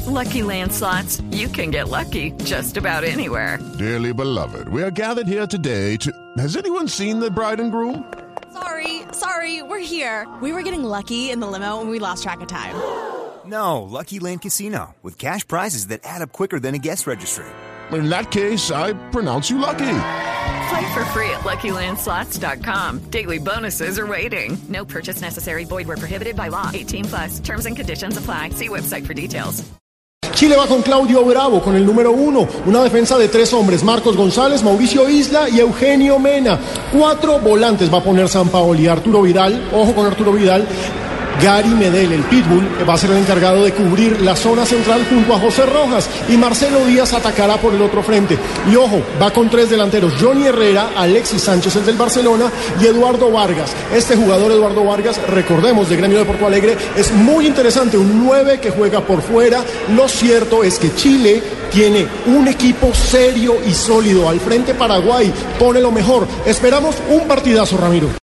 Lucky Land Slots, you can get lucky just about anywhere. Dearly beloved, we are gathered here today to... Has anyone seen the bride and groom? Sorry, we're here. We were getting lucky in the limo and we lost track of time. No, Lucky Land Casino, with cash prizes that add up quicker than a guest registry. In that case, I pronounce you lucky. Play for free at LuckyLandSlots.com. Daily bonuses are waiting. No purchase necessary. Void where prohibited by law. 18+. Terms and conditions apply. See website for details. Chile va con Claudio Bravo, con el número 1. Una defensa de 3 hombres: Marcos González, Mauricio Isla y Eugenio Mena. 4 volantes va a poner Sampaoli. Arturo Vidal, ojo con Arturo Vidal. Gary Medel, el Pitbull, va a ser el encargado de cubrir la zona central junto a José Rojas, y Marcelo Díaz atacará por el otro frente. Y ojo, va con 3 delanteros: Johnny Herrera, Alexis Sánchez, el del Barcelona, y Eduardo Vargas. Este jugador, Eduardo Vargas, recordemos, de Gremio de Porto Alegre, es muy interesante, un 9 que juega por fuera. Lo cierto es que Chile tiene un equipo serio y sólido. Al frente Paraguay pone lo mejor. Esperamos un partidazo, Ramiro.